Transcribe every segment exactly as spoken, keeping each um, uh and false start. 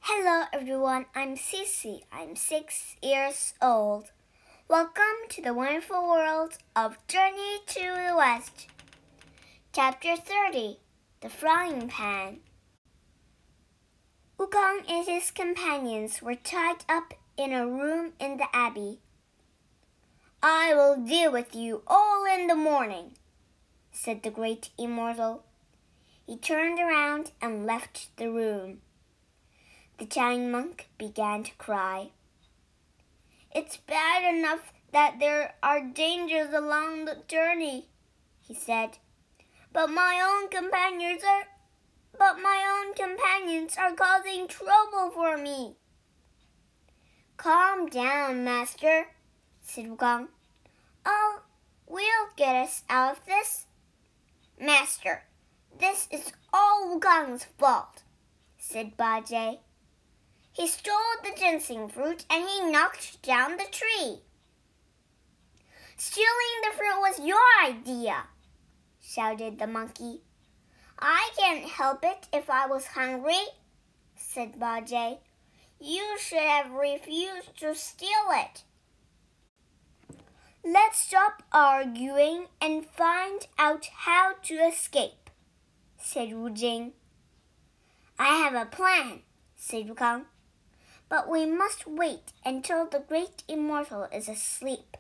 Hello everyone, I'm Cece. I'm six years old. Welcome to the wonderful world of Journey to the West. Chapter thirty, The Frying Pan. Wukong and his companions were tied up in a room in the abbey. I will deal with you all in the morning, said the great immortal. He turned around and left the room. The giant monk began to cry. It's bad enough that there are dangers along the journey, he said. But my own companions are but my own companions are causing trouble for me. Calm down, master, said Wukong. Oh, we'll get us out of this. Master, this is all Wukong's fault, said Bajie. He stole the ginseng fruit and he knocked down the tree. Stealing the fruit was your idea, shouted the monkey. I can't help it if I was hungry, said Bajie. You should have refused to steal it. Let's stop arguing and find out how to escape, said Wu Jing. I have a plan, said Wukong. But we must wait until the great immortal is asleep.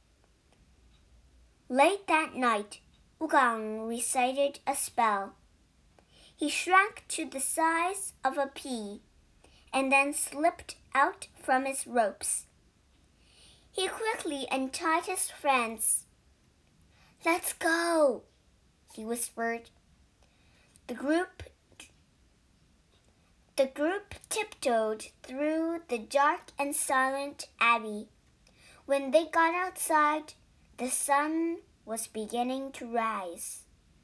Late that night, Wukong recited a spell. He shrank to the size of a pea and then slipped out from his ropes. He quickly untied his friends. Let's go, he whispered. The group The group tiptoed through the dark and silent abbey. When they got outside, the sun was beginning to rise.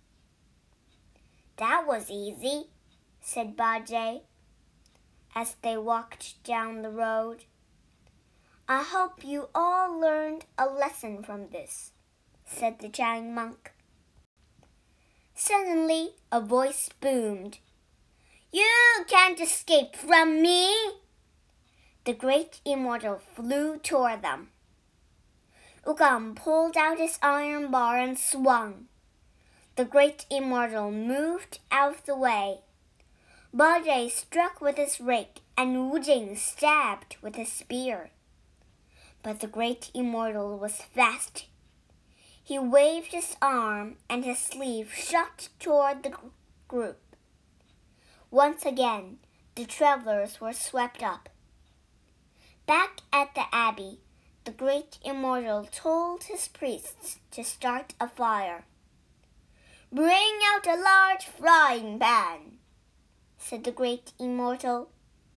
That was easy, said Bajie, as they walked down the road. I hope you all learned a lesson from this, said the giant monk. Suddenly, a voice boomed. You can't escape from me! The great immortal flew toward them. Wukong pulled out his iron bar and swung. The great immortal moved out of the way. Bajie struck with his rake and Wu Jing stabbed with his spear. But the great immortal was fast. He waved his arm and his sleeve shot toward the group. Once again, the travelers were swept up. Back at the abbey, the great immortal told his priests to start a fire. Bring out a large frying pan, said the great immortal.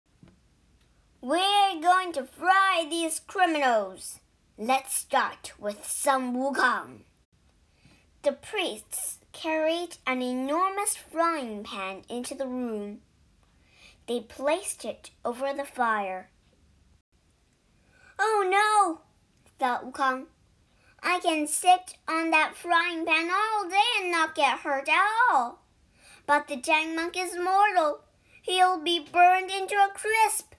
We're going to fry these criminals. Let's start with some Wukong. The priests carried an enormous frying pan into the room. They placed it over the fire. Oh no, thought Wukong. I can sit on that frying pan all day and not get hurt at all. But the giant monk is mortal. He'll be burned into a crisp.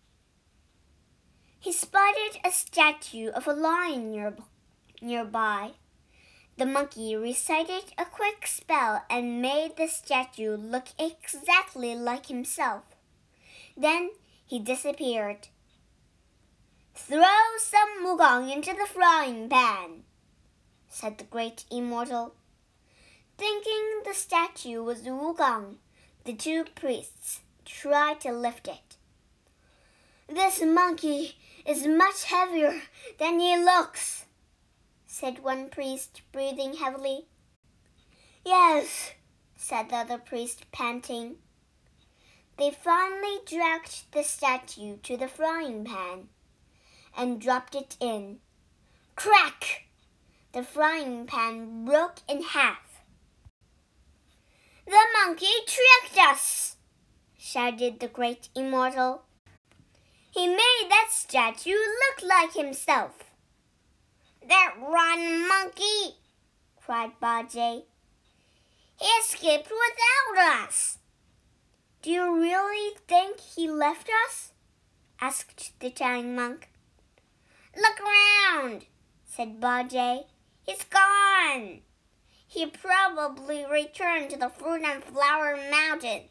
He spotted a statue of a lion near, nearby. The monkey recited a quick spell and made the statue look exactly like himself. Then he disappeared. Throw some Wukong into the frying pan, said the great immortal. Thinking the statue was Wukong, the two priests tried to lift it. This monkey is much heavier than he looks, said one priest, breathing heavily. Yes, said the other priest, panting. They finally dragged the statue to the frying pan and dropped it in. Crack! The frying pan broke in half. The monkey tricked us, shouted the great immortal. He made that statue look like himself. That rotten monkey, cried Bajie. He escaped without us. Do you really think he left us? Asked the giant monk. Look around, said Bajie. He's gone. He probably returned to the fruit and flower mountain.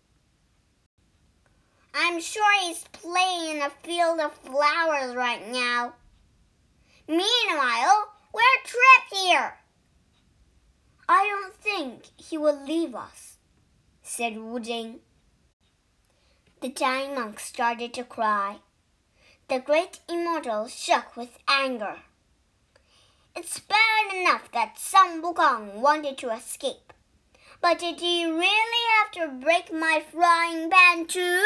I'm sure he's playing in a field of flowers right now. Meanwhile, we're trapped here. I don't think he will leave us, said Wu Jing. The giant monk started to cry. The great immortal shook with anger. It's bad enough that Sun Wukong wanted to escape, but did he really have to break my frying pan too?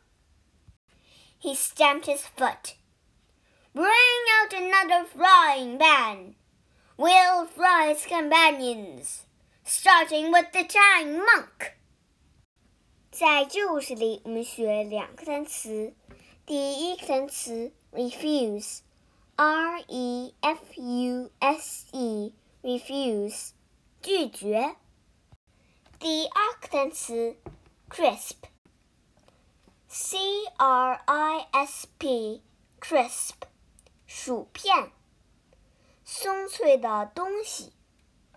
He stamped his foot. Bring out another frying pan. We'll fry his companions, starting with the giant monk. 在这故事里，我们学两个单词。第一个单词 refuse。R E F U S E refuse 拒绝。第二个单词 crisp C R I S P crisp 薯片，松脆的东西。